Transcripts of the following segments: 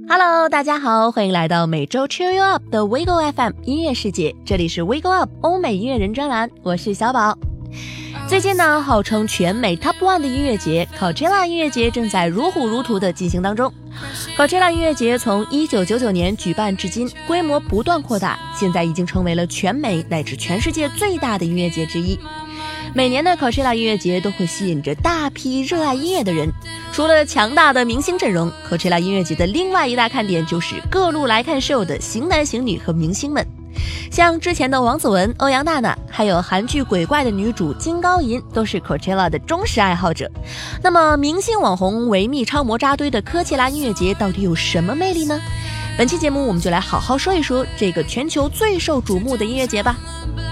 Hello， 大家好，欢迎来到每周 Cheer You Up 的 Wiggle FM 音乐世界，这里是 Wiggle Up 欧美音乐人专栏，我是小宝。最近呢，号称全美 Top 1的音乐节 Coachella 音乐节正在如火如荼的进行当中。Coachella 音乐节从1999年举办至今，规模不断扩大，现在已经成为了全美乃至全世界最大的音乐节之一。每年的 Coachella 音乐节都会吸引着大批热爱音乐的人。除了强大的明星阵容， Coachella 音乐节的另外一大看点就是各路来看秀的型男型女和明星们。像之前的王子文、欧阳娜娜，还有韩剧鬼怪的女主金高银，都是 Coachella 的忠实爱好者。那么明星网红维密超模扎堆的科切拉音乐节到底有什么魅力呢？本期节目我们就来好好说一说这个全球最受瞩目的音乐节吧。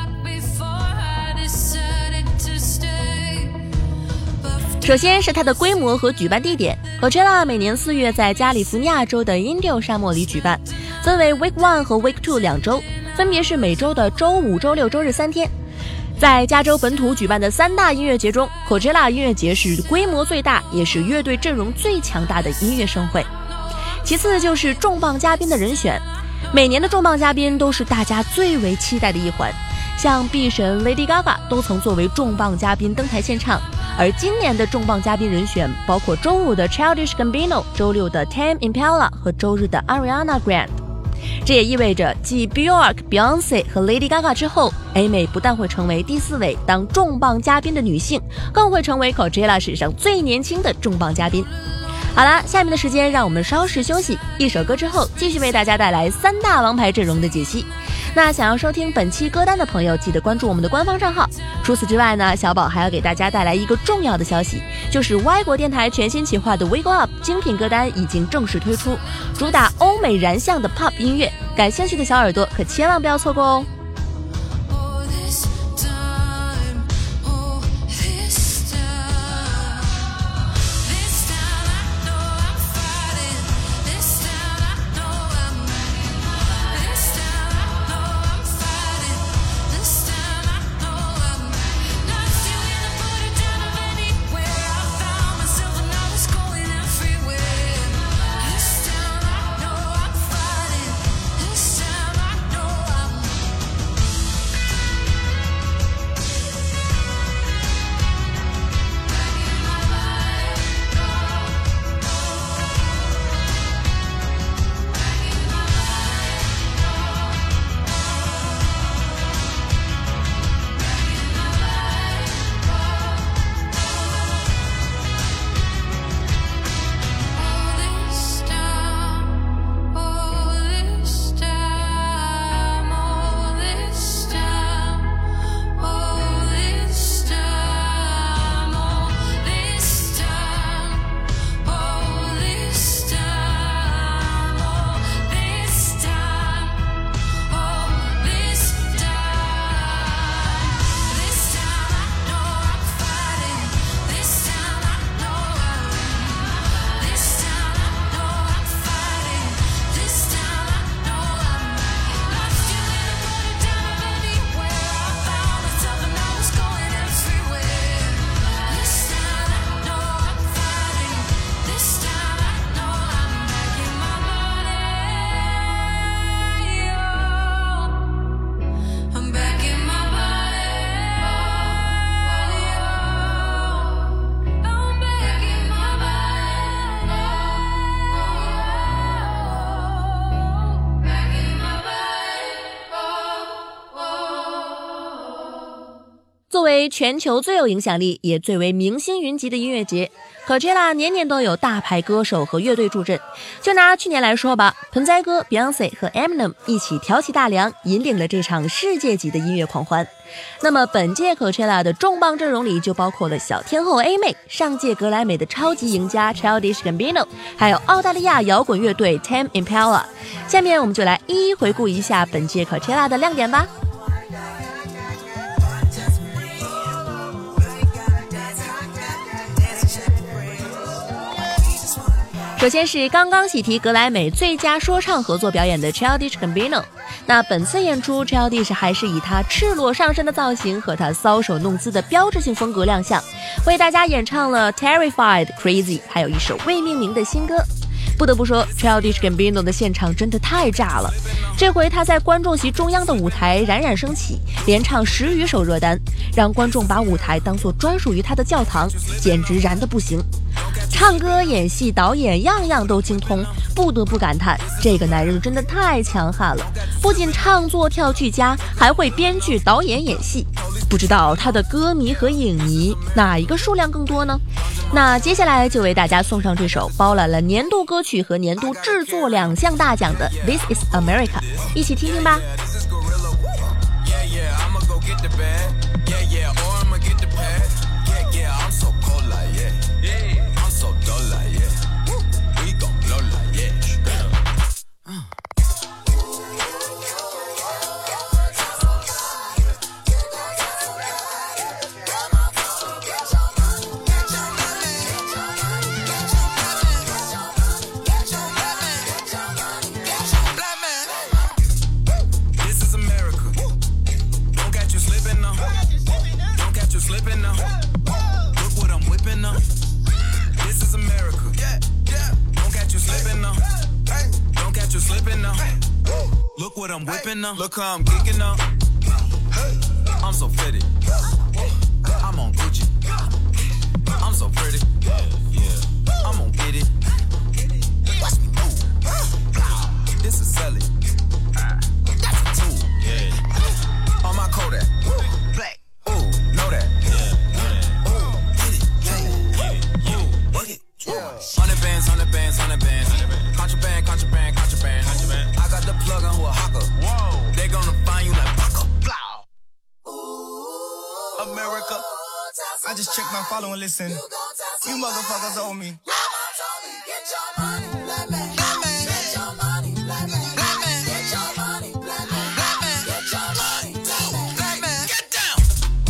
首先是它的规模和举办地点。 Coachella 每年4月在加利福尼亚州的因迪欧沙漠里举办，分为 Week 1和 Week 2两周，分别是每周的周五、周六、周日3天。在加州本土举办的3大音乐节中， Coachella 音乐节是规模最大，也是乐队阵容最强大的音乐盛会。其次就是重磅嘉宾的人选，每年的重磅嘉宾都是大家最为期待的一环，像碧神 Lady Gaga 都曾作为重磅嘉宾登台献唱。而今年的重磅嘉宾人选包括周五的 Childish Gambino、 周六的 Tame Impala 和周日的 Ariana Grande。 这也意味着继 Bjork、Beyonce 和 Lady Gaga 之后， A 妹不但会成为第4位当重磅嘉宾的女性，更会成为 Coachella 史上最年轻的重磅嘉宾。好了，下面的时间让我们稍事休息，一首歌之后继续为大家带来3大王牌阵容的解析。那想要收听本期歌单的朋友，记得关注我们的官方账号。除此之外呢，小宝还要给大家带来一个重要的消息，就是歪国电台全新企划的 Wiggle Up 精品歌单已经正式推出，主打欧美燃向的 Pop 音乐，感兴趣的小耳朵可千万不要错过哦。作为全球最有影响力也最为明星云集的音乐节， Coachella 年年都有大牌歌手和乐队助阵。就拿去年来说吧，盆栽哥 Beyonce 和 Eminem 一起挑起大梁，引领了这场世界级的音乐狂欢。那么本届 Coachella 的重磅阵容里就包括了小天后 A 妹、上届格莱美的超级赢家 Childish Gambino， 还有澳大利亚摇滚乐队 Tame Impala。 下面我们就来一一回顾一下本届 Coachella 的亮点吧。首先是刚刚喜提格莱美最佳说唱合作表演的 Childish Gambino。 那本次演出 Childish 还是以他赤裸上身的造型和他搔首弄姿的标志性风格亮相，为大家演唱了 Terrified、 Crazy， 还有一首未命名的新歌。 不得不说 Childish Gambino 的现场真的太炸了，这回他在观众席中央的舞台冉冉升起，连唱10余首热单，让观众把舞台当作专属于他的教堂，简直燃得不行。唱歌、演戏、导演样样都精通，不得不感叹这个男人真的太强悍了，不仅唱作跳俱佳，还会编剧、导演、演戏。不知道他的歌迷和影迷哪一个数量更多呢？那接下来就为大家送上这首包揽了年度歌曲和年度制作2项大奖的 This is America， 一起听听吧。 Look how I'm geeking up. I'm so fitted. I'm on Gucci. I'm so pretty. I'm gonna get it. Watch me move. This is Sally. That's a tool. On my Kodak. Black. Ooh, know that. Ooh, get it. Work it. 100 bands, 100 bands, 100 bands. Contraband, contraband, contraband. I got the plug on who a hawker. They gonna find you like Paco. America. I just checked my follow and listen. You motherfuckers owe me. Get your money, black man. Get your money, black man. Get your money, black man. Get your money, black man. Get down.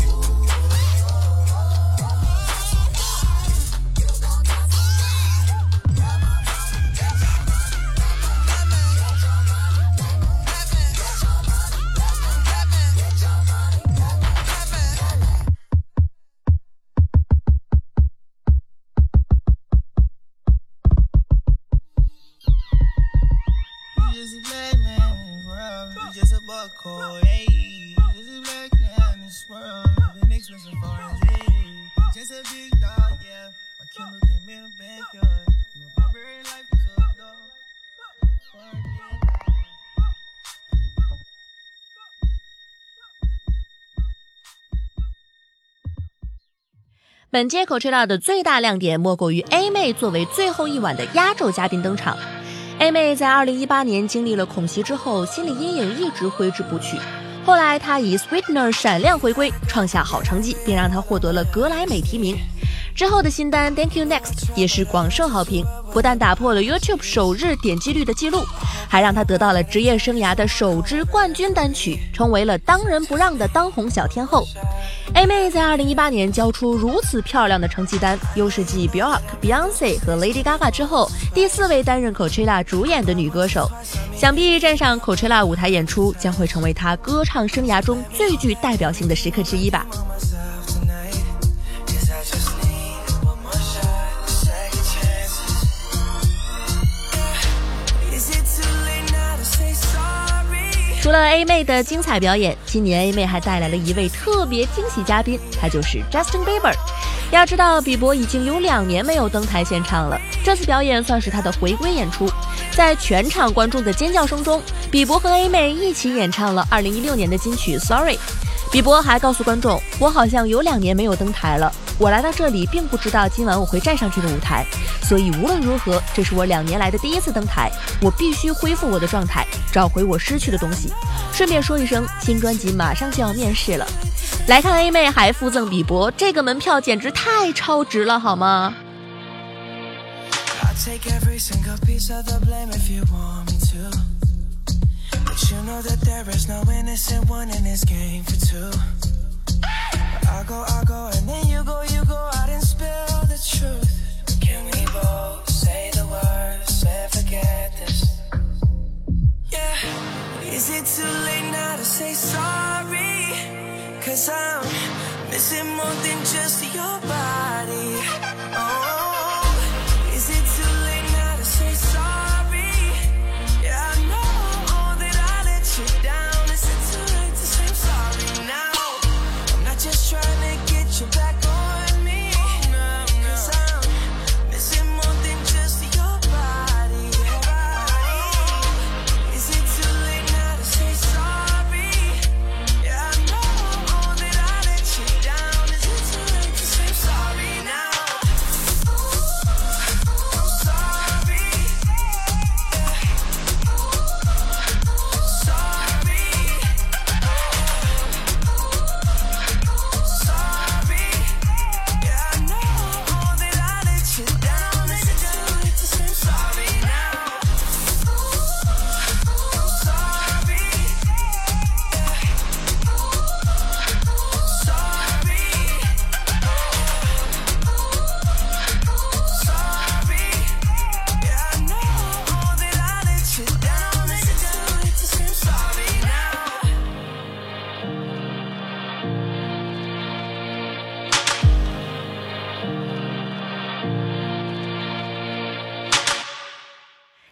Cold, hey, just a black man in this world, living expensive foreign days. Just a big dog, yeah. My killer came in the backyard. My barbarian life is a dog. 本届 Coachella 的最大亮点莫过于 A 妹作为最后一晚的压轴嘉宾登场。A 妹在2018年经历了恐袭之后，心理阴影一直挥之不去。后来她以 Sweetener 闪亮回归，创下好成绩，并让她获得了格莱美提名。之后的新单 Thank You Next 也是广受好评，不但打破了 YouTube 首日点击率的记录，还让她得到了职业生涯的首支冠军单曲，成为了当仁不让的当红小天后。A 妹在2018年交出如此漂亮的成绩单，又是继 Bjork、Beyonce 和 Lady Gaga 之后第4位担任 Coachella 主演的女歌手。想必站上 Coachella 舞台演出将会成为她歌唱生涯中最具代表性的时刻之一吧。除了 A 妹的精彩表演，今年 A 妹还带来了一位特别惊喜嘉宾，他就是 Justin Bieber。要知道，比伯已经有2年没有登台献唱了，这次表演算是他的回归演出。在全场观众的尖叫声中，比伯和 A 妹一起演唱了2016年的金曲 Sorry。比伯还告诉观众，我好像有2年没有登台了，我来到这里并不知道今晚我会站上这个舞台，所以无论如何，这是我2年来的第1次登台，我必须恢复我的状态，找回我失去的东西。顺便说一声，新专辑马上就要面世了。来看 A 妹还附赠比伯，这个门票简直太超值了好吗？You know that there is no innocent one in this game for two. I go, and then you go out and spill the truth. Can we both say the words and forget this? Yeah. Is it too late now to say sorry? 'Cause I'm missing more than just your body. Oh, is it too late now to say sorry?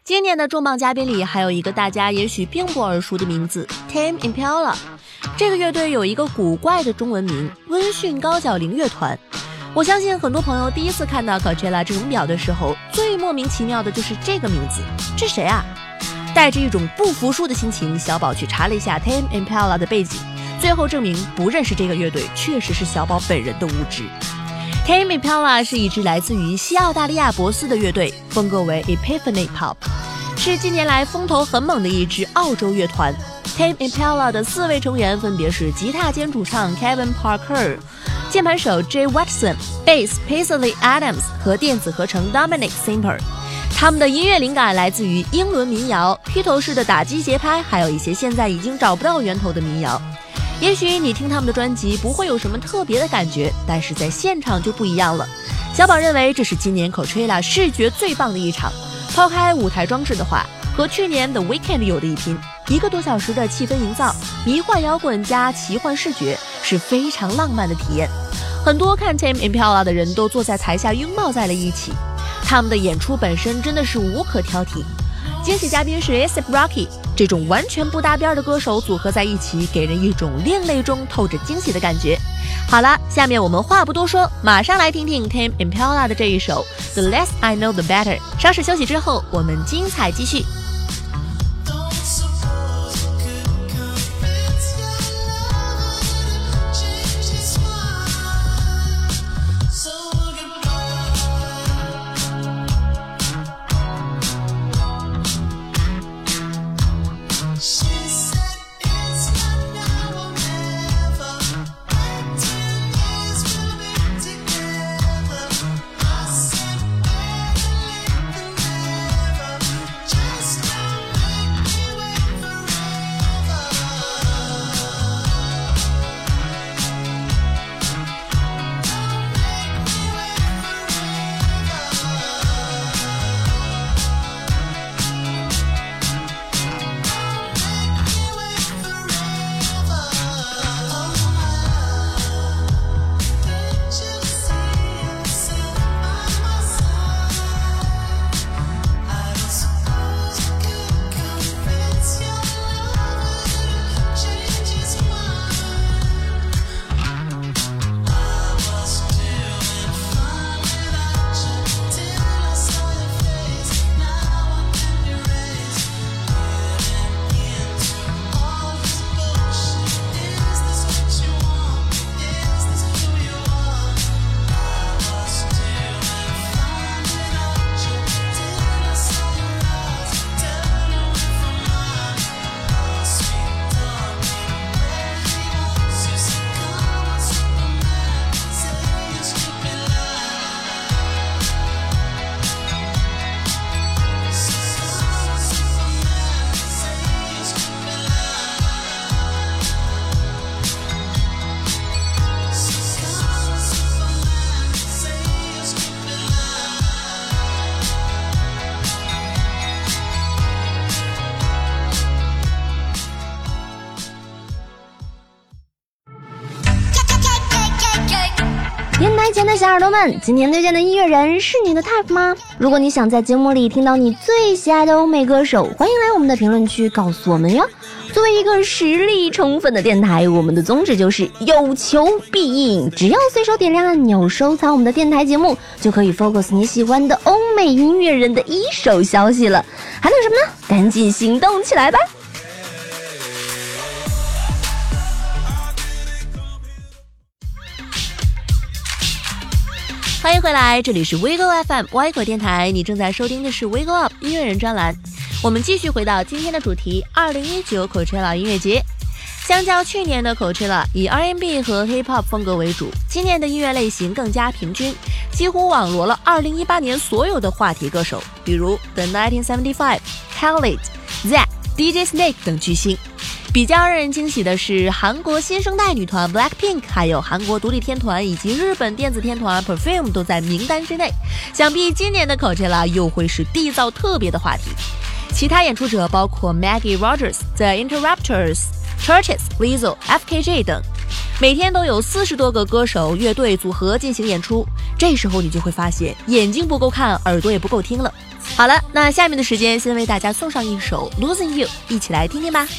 今年的重磅嘉宾里还有一个大家也许并不耳熟的名字 Tame Impala。 这个乐队有一个古怪的中文名温驯高脚铃乐团。我相信很多朋友第一次看到 Coachella 这种表的时候，最莫名其妙的就是这个名字，这谁啊？带着一种不服输的心情，小宝去查了一下 Tame Impala 的背景，最后证明不认识这个乐队确实是小宝本人的无知。Tame Impala 是一支来自于西澳大利亚博斯的乐队，风格为 Epiphany Pop， 是近年来风头很猛的一支澳洲乐团。Tame Impala 的4位成员分别是吉他兼主唱 Kevin Parker、 键盘手 Jay Watson、 Bass Paisley Adams 和电子合成 Dominic Simper。 他们的音乐灵感来自于英伦民谣、披头士的打击节拍，还有一些现在已经找不到源头的民谣。也许你听他们的专辑不会有什么特别的感觉，但是在现场就不一样了。小宝认为这是今年 Coachella 视觉最棒的一场，抛开舞台装置的话，和去年的 Weekend 有的一拼。1个多小时的气氛营造，迷幻摇滚加奇幻视觉，是非常浪漫的体验。很多看 Tame Impala 的人都坐在台下拥抱在了一起，他们的演出本身真的是无可挑剔。惊喜嘉宾是 A$AP Rocky， 这种完全不搭边的歌手组合在一起，给人一种另类中透着惊喜的感觉。好了，下面我们话不多说，马上来听听 Tame Impala 的这一首 The Less I Know The Better。 稍事休息之后，我们精彩继续。 电台前的小耳朵们，今天推荐的音乐人是你的 type 吗？如果你想在节目里听到你最喜爱的欧美歌手，欢迎来我们的评论区告诉我们哟。作为一个实力充分的电台，我们的宗旨就是有求必应，只要随手点亮按钮收藏我们的电台节目，就可以 focus 你喜欢的欧美音乐人的一手消息了。还等什么呢？赶紧行动起来吧！ 欢迎回来，这里是 Wiggle FM 歪口电台，你正在收听的是 Wiggle Up 音乐人专栏。我们继续回到今天的主题2019 Coachella 音乐节。相较去年的 Coachella 以 R&B 和 Hip Hop 风格为主，今年的音乐类型更加平均，几乎网罗了2018年所有的话题歌手，比如 The 1975、Khalid、Zack、DJ Snake 等巨星。比较让人惊喜的是，韩国新生代女团 Blackpink， 还有韩国独立天团以及日本电子天团 Perfume 都在名单之内。想必今年的 Coachella 又会是缔造特别的话题。其他演出者包括 Maggie Rogers、The Interrupters、Churches、Lizzo、FKJ 等，每天都有40多个歌手、乐队组合进行演出。这时候你就会发现，眼睛不够看，耳朵也不够听了。 好了，那下面的时间先为大家送上一首 Losing You， 一起来听听吧。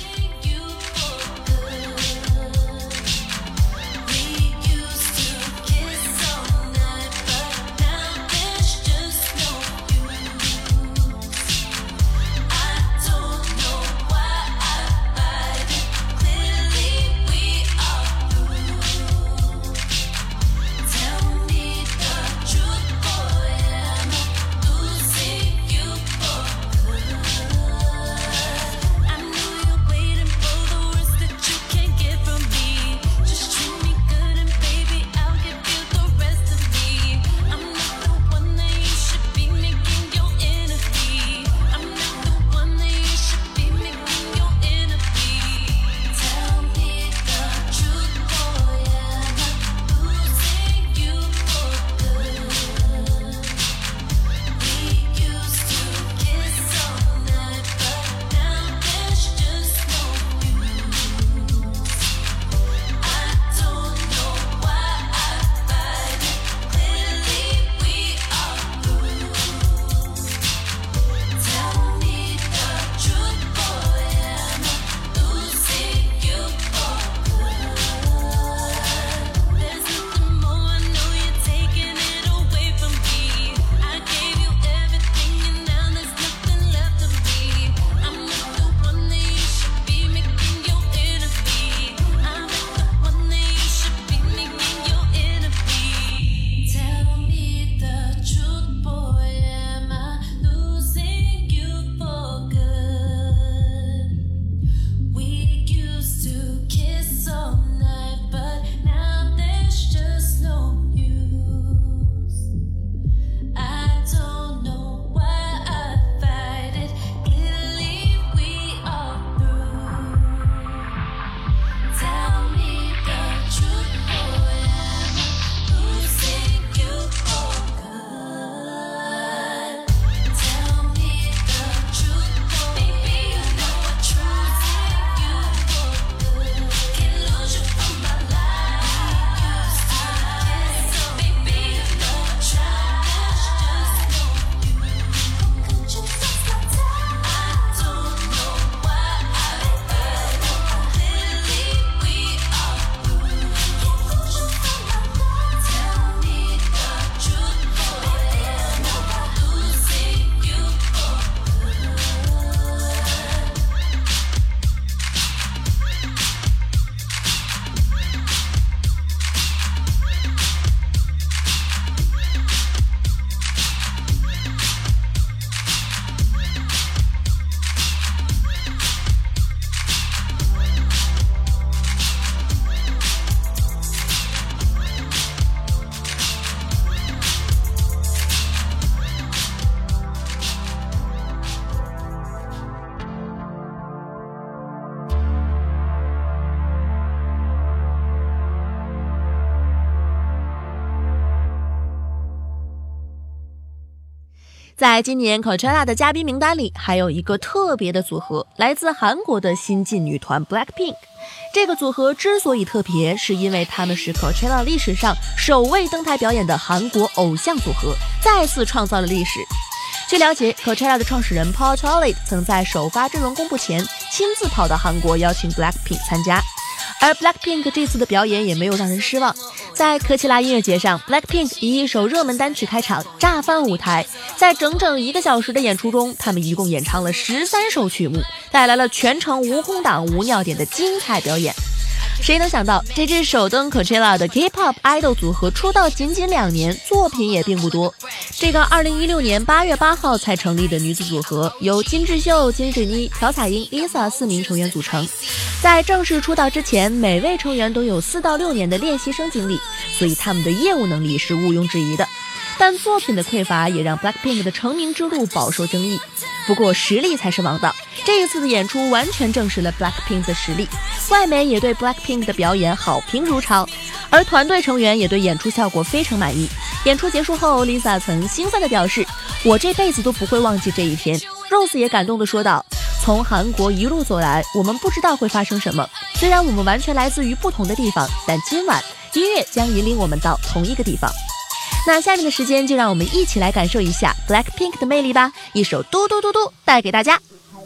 在今年 Coachella 的嘉宾名单里，还有一个特别的组合，来自韩国的新晋女团 BLACKPINK。这个组合之所以特别，是因为他们是 Coachella 历史上首位登台表演的韩国偶像组合，再次创造了历史。据了解 ，Coachella 的创始人 Paul Chollett 曾在首发阵容公布前，亲自跑到韩国邀请 BLACKPINK 参加。而 BLACKPINK 这次的表演也没有让人失望，在科切拉音乐节上 BLACKPINK 以一首热门单曲开场，炸翻舞台。在整整1个小时的演出中，他们一共演唱了13首曲目，带来了全程无空档无尿点的精彩表演。谁能想到，这支首登 Coachella 的 K-pop idol 组合出道仅2年，作品也并不多。这个2016年8月8号才成立的女子组合，由金智秀、金智妮、朴彩英、Lisa 4名成员组成。在正式出道之前，每位成员都有4到6年的练习生经历，所以他们的业务能力是毋庸置疑的。但作品的匮乏也让 BLACKPINK 的成名之路饱受争议。不过实力才是王道，这一次的演出完全证实了 BLACKPINK 的实力，外媒也对 BLACKPINK 的表演好评如潮，而团队成员也对演出效果非常满意。演出结束后 ，Lisa 曾兴奋地表示：“我这辈子都不会忘记这一天。” Rose 也感动地说道：“从韩国一路走来，我们不知道会发生什么。虽然我们完全来自于不同的地方，但今晚音乐将引领我们到同一个地方。” 那下面的时间就让我们一起来感受一下 Blackpink 的魅力吧，一首嘟嘟嘟嘟带给大家。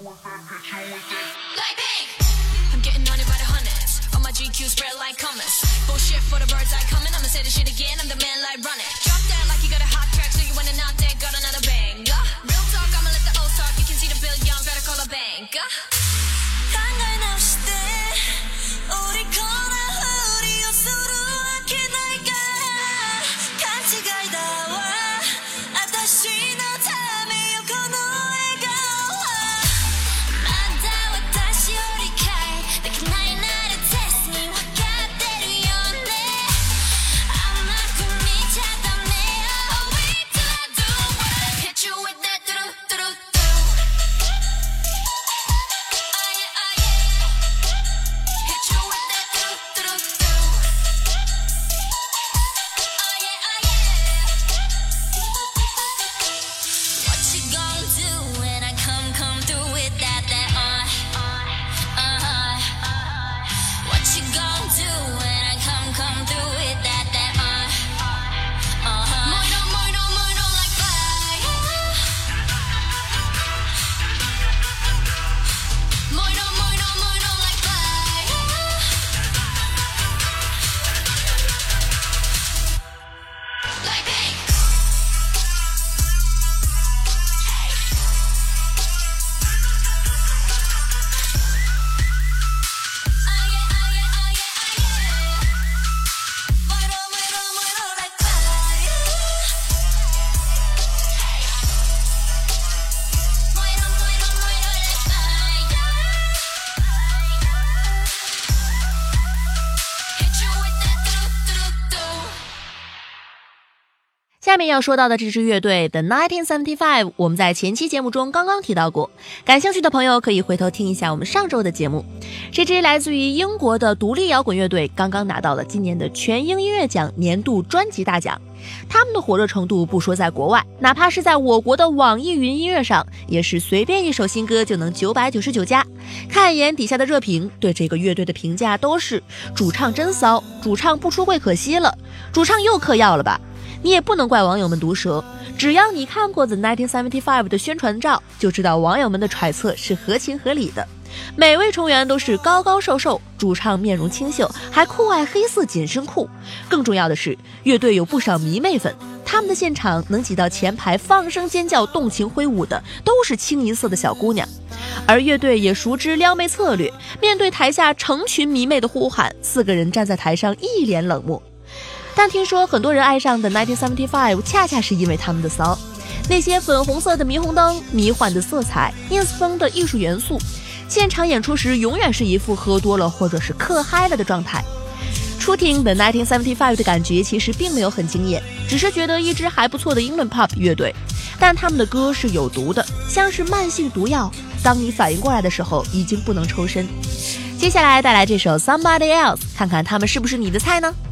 下面要说到的这支乐队 The 1975， 我们在前期节目中刚刚提到过，感兴趣的朋友可以回头听一下我们上周的节目。这支来自于英国的独立摇滚乐队刚刚拿到了今年的全英音乐奖年度专辑大奖，他们的火热程度不说在国外，哪怕是在我国的网易云音乐上，也是随便一首新歌就能999加。看一眼底下的热评，对这个乐队的评价都是主唱真骚，主唱不出柜可惜了，主唱又嗑药了吧。你也不能怪网友们毒舌，只要你看过 The 1975 的宣传照，就知道网友们的揣测是合情合理的。每位成员都是高高瘦瘦，主唱面容清秀，还酷爱黑色紧身裤。更重要的是，乐队有不少迷妹粉，他们的现场能挤到前排放声尖叫动情挥舞的都是清一色的小姑娘。而乐队也熟知撩妹策略，面对台下成群迷妹的呼喊，4个人站在台上一脸冷漠。但听说很多人爱上的1975恰恰是因为他们的骚，那些粉红色的霓虹灯、迷幻的色彩、ins 风的艺术元素，现场演出时永远是一副喝多了或者是嗑嗨了的状态。初听 The 1975的感觉其实并没有很惊艳，只是觉得一支还不错的英伦 pop 乐队，但他们的歌是有毒的，像是慢性毒药，当你反应过来的时候已经不能抽身。接下来带来这首 Somebody Else， 看看他们是不是你的菜呢？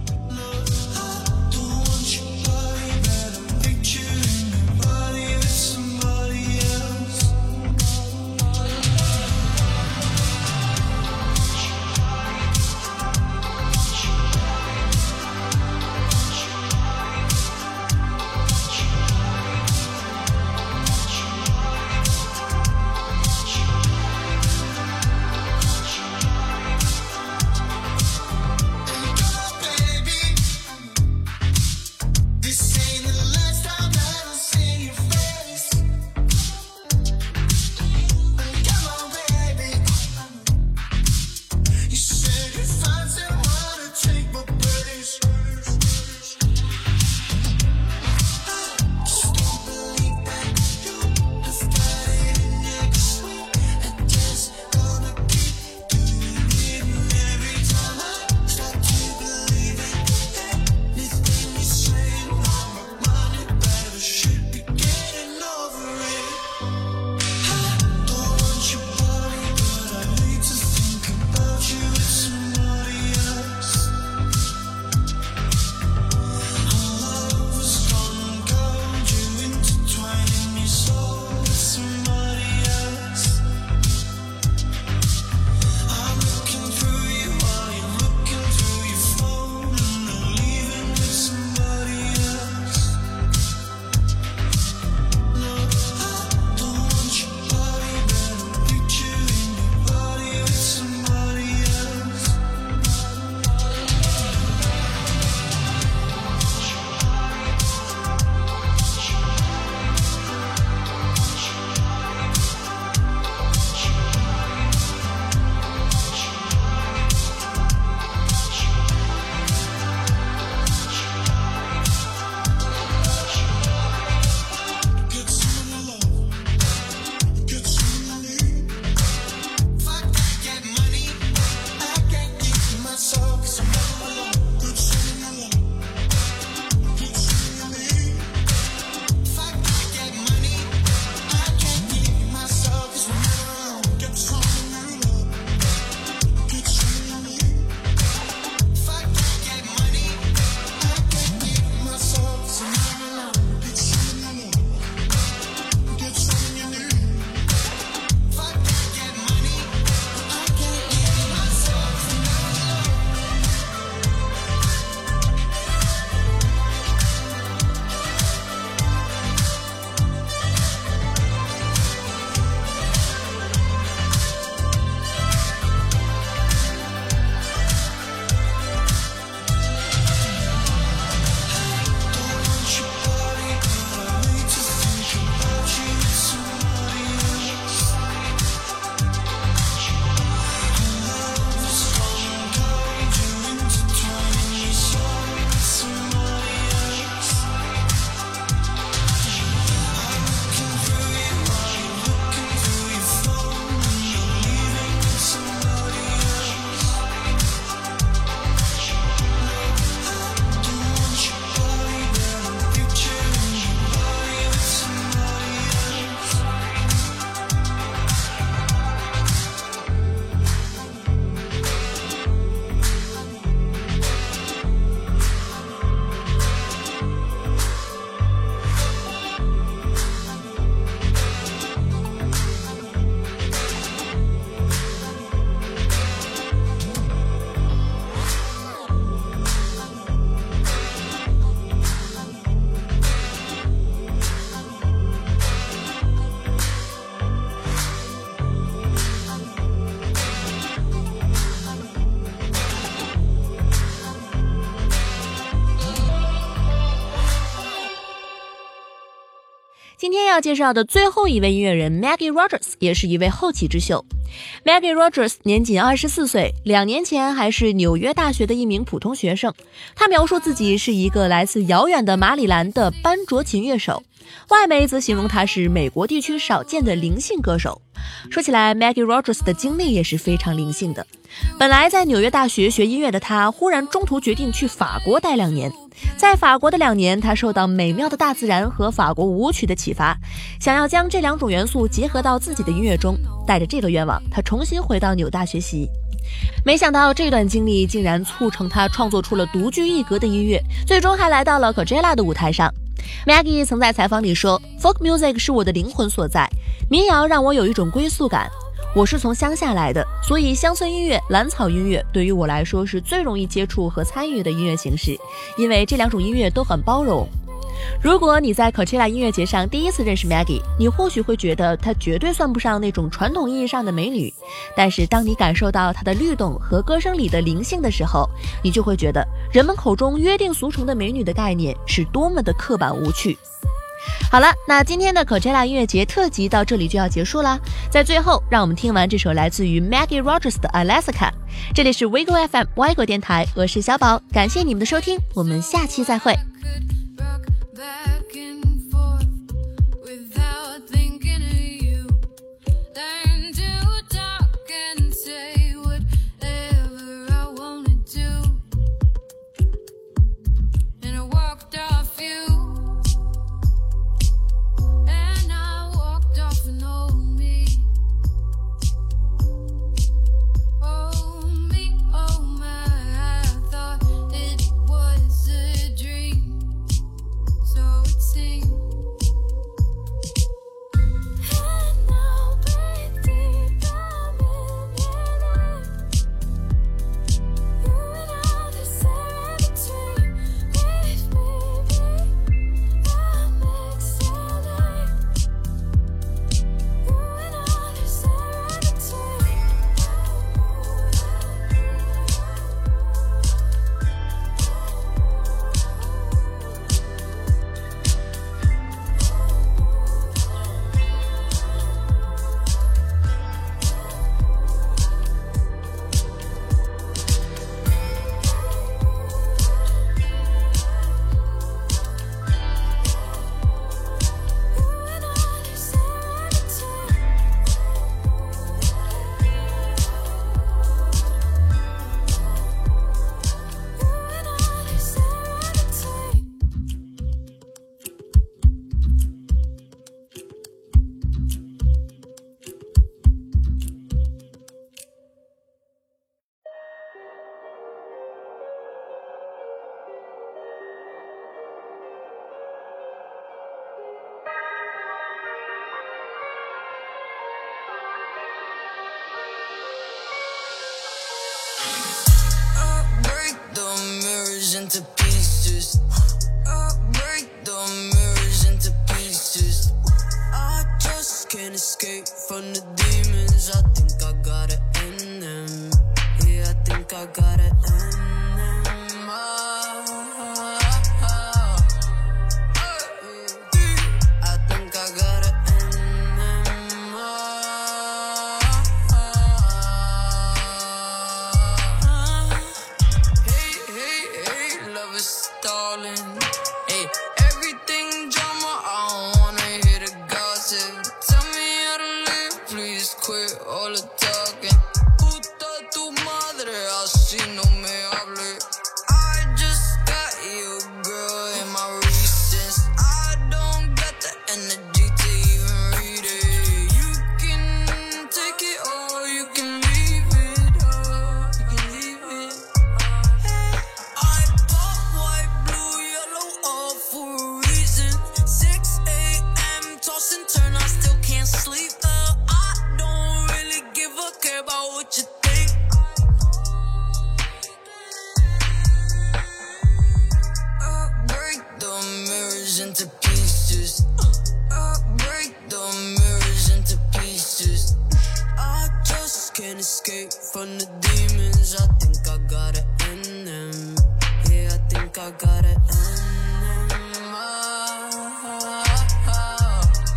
今天要介绍的最后一位音乐人 Maggie Rogers 也是一位后起之秀。Maggie Rogers 年仅24岁，2年前还是纽约大学的一名普通学生。他描述自己是一个来自遥远的马里兰的班卓琴乐手，外媒则形容他是美国地区少见的灵性歌手。说起来 Maggie Rogers 的经历也是非常灵性的。本来在纽约大学学音乐的他，忽然中途决定去法国待2年。在法国的2年，他受到美妙的大自然和法国舞曲的启发，想要将这2种元素结合到自己的音乐中。带着这个愿望，他重新回到纽大学习。没想到这段经历竟然促成他创作出了独具一格的音乐，最终还来到了 Coachella 的舞台上。Maggie 曾在采访里说， Folk music 是我的灵魂所在，民谣让我有一种归宿感。我是从乡下来的，所以乡村音乐、蓝草音乐对于我来说是最容易接触和参与的音乐形式，因为这2种音乐都很包容。如果你在 Coachella 音乐节上第一次认识 Maggie， 你或许会觉得她绝对算不上那种传统意义上的美女，但是当你感受到她的律动和歌声里的灵性的时候，你就会觉得人们口中约定俗成的美女的概念是多么的刻板无趣。好了，那今天的 Coachella 音乐节特辑到这里就要结束啦。在最后，让我们听完这首来自于 Maggie Rogers 的 Alaska。 这里是 Wiggle FM 歪狗电台，我是小宝，感谢你们的收听，我们下期再会。 Into pieces, I break the mirrors into pieces. I just can't escape from the demons. I think I gotta end them. Yeah, I think I gotta end them. I think I gotta end them. Hey, love is stalling. Hey, everything drama, I don't wanna hear the gossip. Tell me how to live, please quit all the talking. Puta tu madre, así no me hable. I just got you, girl, in my recess. I don't got the energy to even read it. You can take it or you can leave it. You can leave it. I pop white, blue, yellow, all for a reason. 6 a.m. toss and turn, I still can't sleep. I don't really give a care about what you think. I break the mirrors into pieces. I break the mirrors into pieces. I just can't escape from the demons. I think I gotta end them. Yeah, I think I gotta end them.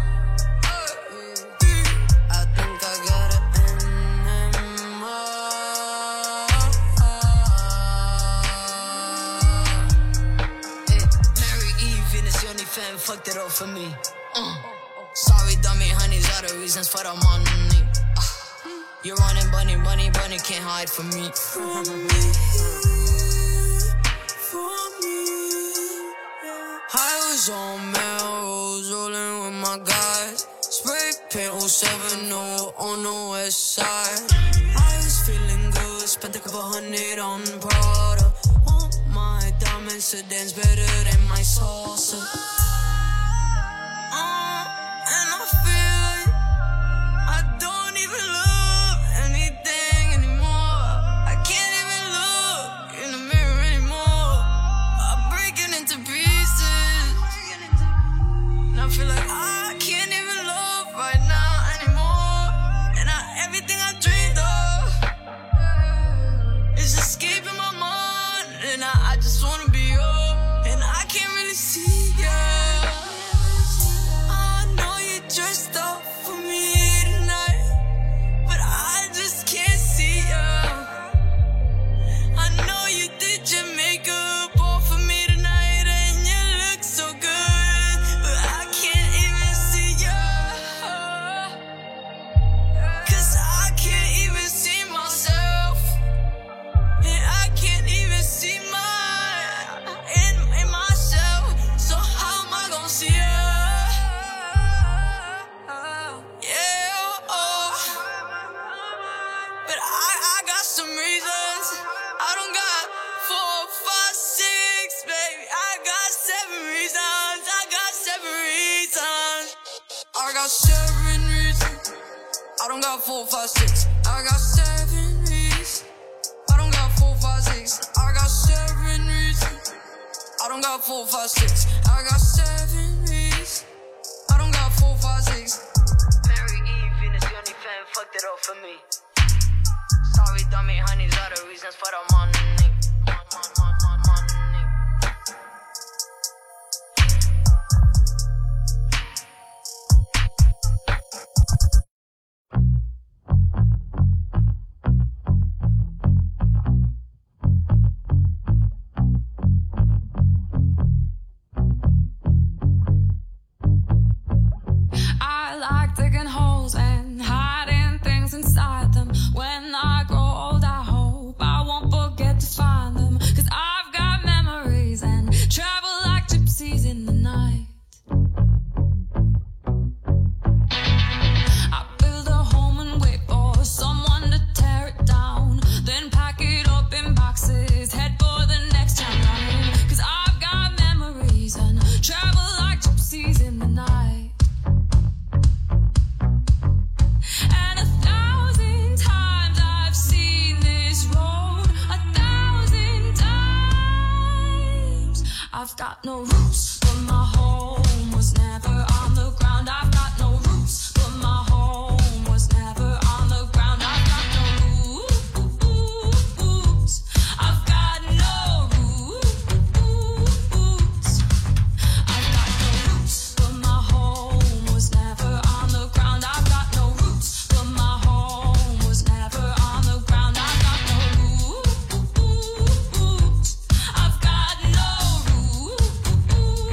for me. Sorry, dummy, honey's are the reasons for the money. You're running, bunny, bunny, bunny, can't hide from me. For me. I was on Melrose, rolling with my guys. Spray paint 07 on the west side. I was feeling good, spent a couple $100 on Prada. Oh, my diamond sedans better than my salsa. And I feel like I don't even love anything anymore. I can't even look in the mirror anymore. I'm breaking into pieces. And I feel like I can't even love right now anymore. And everything I dreamed of is escaping my mind. And I just wanna be yours. And I can't really see you. I know you dressed up for me tonight, but I just can't see you. I know you did your makeup all for me tonight, and you look so good, but I can't even see you. 'Cause I can't even see myself, and I can't even see in myself. So how am I gonna see you? Yeah, but I got some reasons. I don't got 4, 5, 6, baby. I got 7 reasons. I got 7 reasons. I got 7 reasons. I don't got 4, 5, 6. I got 7 reasons. I don't got 4, 5, 6. I got 7 reasons. I don't got 4, 5, 6. I got 7 reasons. I don't got 4, 5, 6. Mary Eve, Venus, the only fan fucked it up for me. Sorry, dummy, honey's are the reasons for the money. I like digging holes and hiding things inside them. When I grow old, I hope I won't forget to find them. 'Cause I've got memories and travel like gypsies in the night. I build a home and wait for someone to tear it down, then pack it up in boxes, head for the next town running. 'Cause I've got memories and travel like gypsies in the night. And 1,000 times I've seen this road, 1,000 times. I've got no roots, but my home was never on the ground. I've got no roots, but my home was never on the ground. I've got no roots. I've got no roots. I've got no roots, but my home was never on the ground. I've got no roots, but my home was never on the ground. I've got no roots. I've got no roots.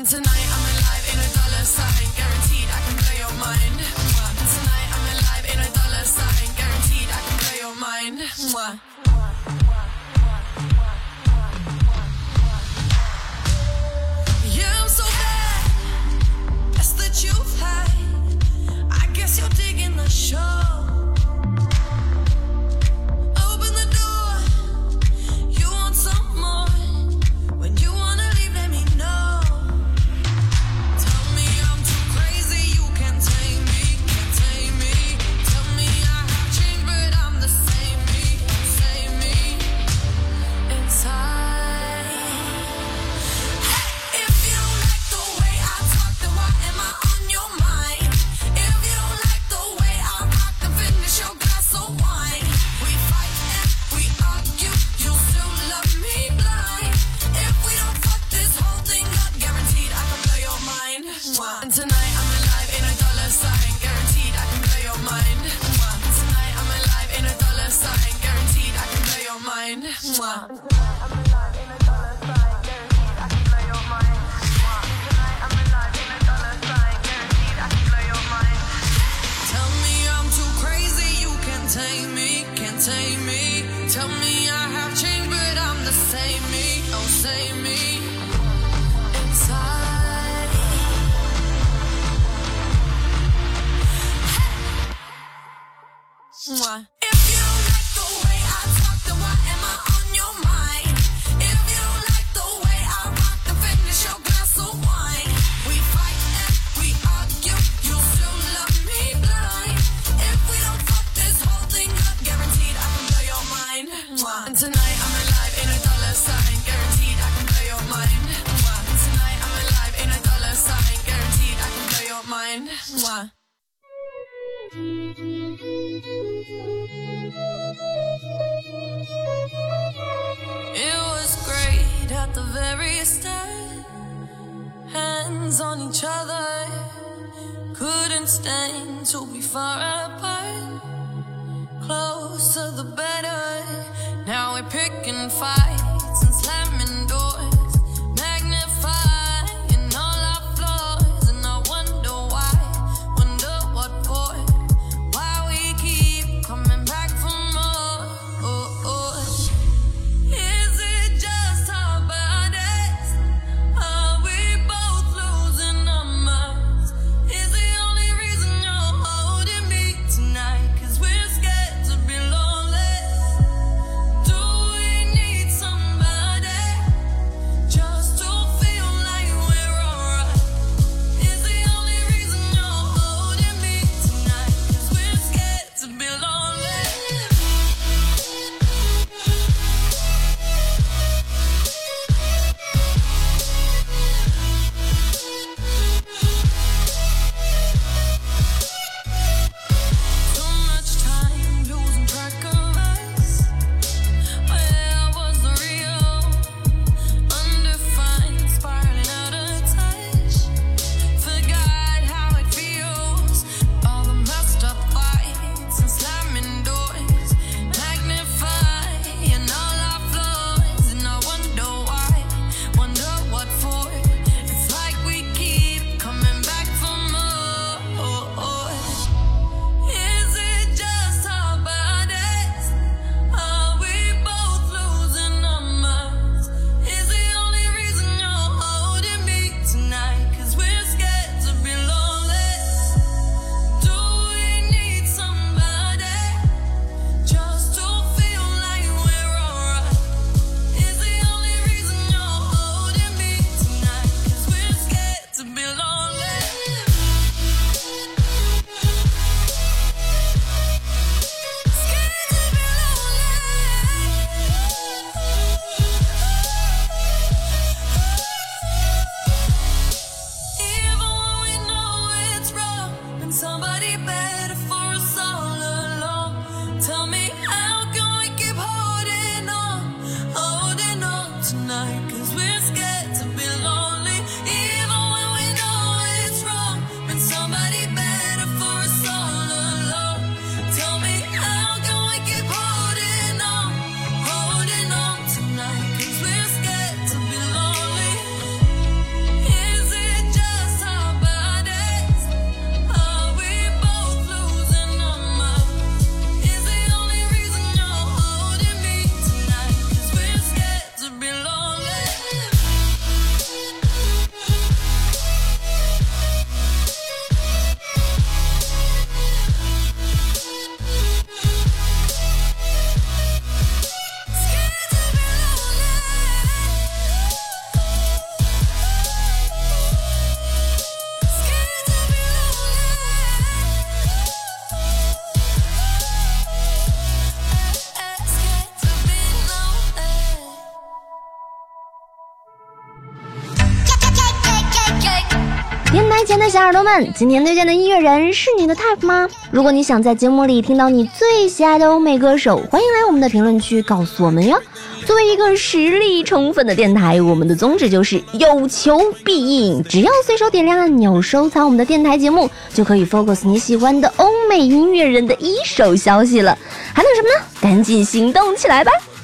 And tonight I'm alive in a dollar sign, guaranteed I can blow your mind. And tonight I'm alive in a dollar sign, guaranteed I can blow your mind. Yeah, I'm so bad, that's the truth. I guess you're digging the show. Open the door, you want some more. When you wanna leave, let me know. Tell me I'm too crazy, you can't tame me, can't tame me. Tell me I have changed, but I'm the same me inside. Hey, if you don't like the way I talk, then why am I on your mind? If you don't like the way I rock, then finish your glass of wine. We fight and we argue, you still love me blind. If we don't fuck this whole thing up, guaranteed I can blow your mind. And tonight I'm alive in a dollar sign, guaranteed I can blow your mind. And tonight I'm alive in a dollar sign, guaranteed I can blow your mind. Tell me I'm too crazy, you can't tame me, can't tame me. Tell me I have changed, but I'm the same me, oh same me inside. If you don't like the way I talk, then why am I on your mind? If you don't like the way I rock, then finish your glass of wine. We fight and we argue, you still love me blind. If we don't fuck this whole thing up, guaranteed I can blow your mind. And tonight I'm alive in a dollar sign, guaranteed I can blow your mind. And tonight I'm alive in a dollar sign, guaranteed I can blow your mind. It was great at the very start, hands on each other, couldn't stand to be far apart. Closer the better, now we're picking fights and slamming doors, magnifying all our flaws. And I wonder why, wonder what for, why we keep coming back for more. Is it just our bodies? Are we both losing our minds? Is the only reason you're holding me tonight 'cause we're scared to be lonely? Do we need somebody just to feel like we're alright? Is the only reason you're holding me tonight 'cause we're scared to be lonely? Too much time losing track of us. Where was the real? Undefined, spiraling out of touch. Forgot how it feels. All the messed up fights and slamming doors, magnifying all our flaws. And I wonder why, wonder what for. It's like we keep coming back for more. Is it just our bodies? Are we both losing our minds? Is the only reason you're holding me tonight 'cause we're scared to be lonely? Do we need somebody just to feel like we're alright? Is the only reason you're holding me tonight 'cause we're scared to be lonely? Scared to be Even when we know it's wrong, been somebody better for us all along. Tell me, how can we keep holding on tonight? 'Cause we're scared to be lonely. Even when we know 电台前的小耳朵们，今天推荐的音乐人是你的 type 吗？如果你想在节目里听到你最喜爱的欧美歌手，欢迎来我们的评论区告诉我们哟。作为一个实力充分的电台，我们的宗旨就是有求必应，只要随手点亮按钮收藏我们的电台节目，就可以 focus 你喜欢的欧美音乐人的一手消息了。还等什么呢？赶紧行动起来吧！